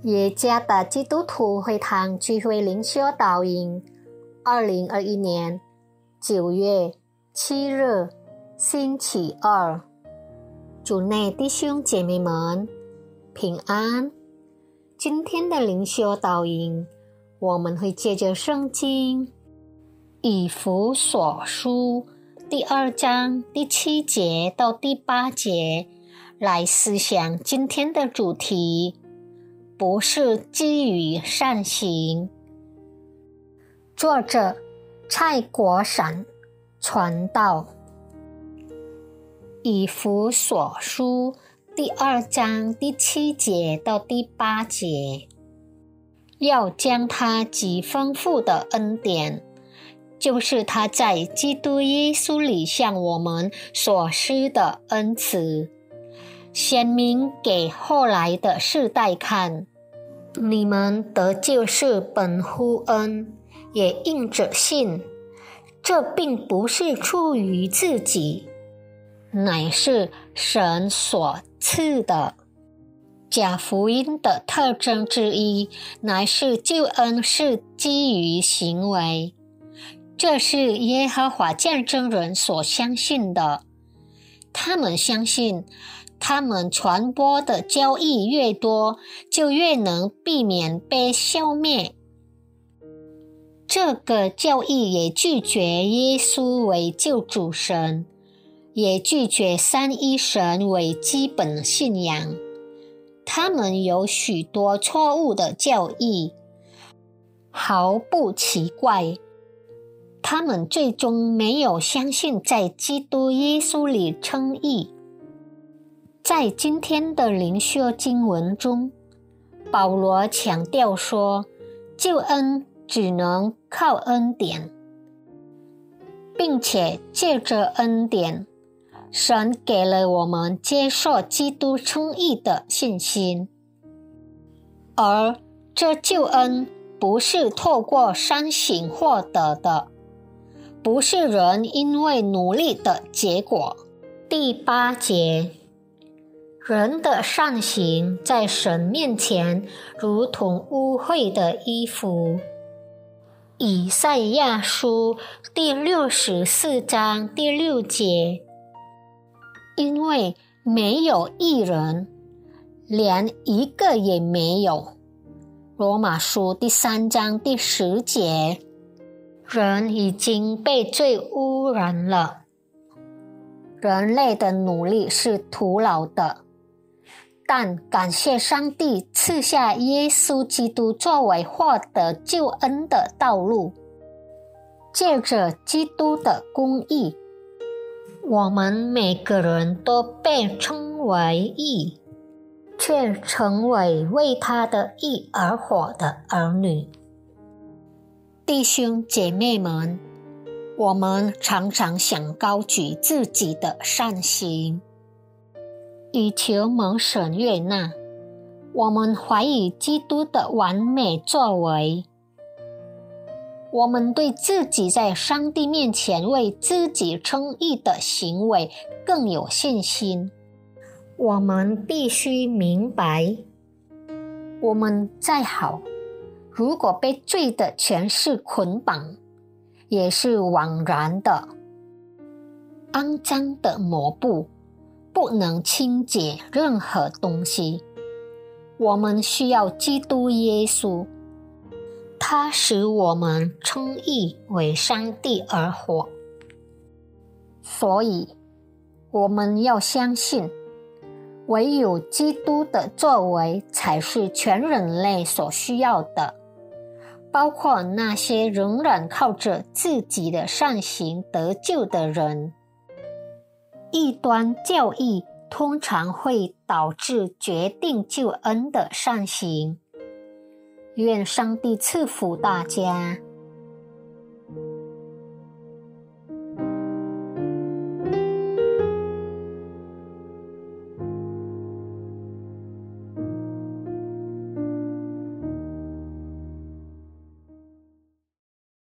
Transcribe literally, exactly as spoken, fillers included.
耶加达基督徒会堂聚会灵修导引，二零二一年九月七日，星期二。主内弟兄姐妹们平安。今天的灵修导引，我们会借着圣经以弗所书第二章第七节到第八节来思想今天的主题，不是基于善行。作者蔡国闪传道。以弗所书第二章第七节到第八节，要将他极丰富的恩典，就是他在基督耶稣里向我们所施的恩慈，显明给后来的世代看。你们得救是本乎恩，也因着信。这并不是出于自己，乃是神所赐的。假福音的特征之一，乃是救恩是基于行为。这是耶和华见证人所相信的。他们相信，他们传播的教义越多，就越能避免被消灭。这个教义也拒绝耶稣为救主神，也拒绝三一神为基本信仰。他们有许多错误的教义，毫不奇怪。他们最终没有相信在基督耶稣里称义。在今天的灵修经文中，保罗强调说，救恩只能靠恩典，并且借着恩典，神给了我们接受基督称义的信心。而这救恩不是透过善行获得的，不是人因为努力的结果。第八节，人的善行在神面前如同污秽的衣服。以赛亚书第六十四章第六节，因为没有义人，连一个也没有。罗马书第三章第十节，人已经被罪污染了。人类的努力是徒劳的，但感谢上帝赐下耶稣基督作为获得救恩的道路。借着基督的公义，我们每个人都被称为义，却成为为他的义而活的儿女。弟兄姐妹们，我们常常想高举自己的善行，以求蒙神悦纳。我们怀疑基督的完美作为，我们对自己在上帝面前为自己称义的行为更有信心。我们必须明白，我们再好，如果被罪的权势捆绑，也是枉然的。肮脏的抹布不能清洁任何东西。我们需要基督耶稣，他使我们称义为上帝而活。所以，我们要相信，唯有基督的作为才是全人类所需要的，包括那些仍然靠着自己的善行得救的人。异端教义通常会导致决定救恩的善行。愿上帝赐福大家。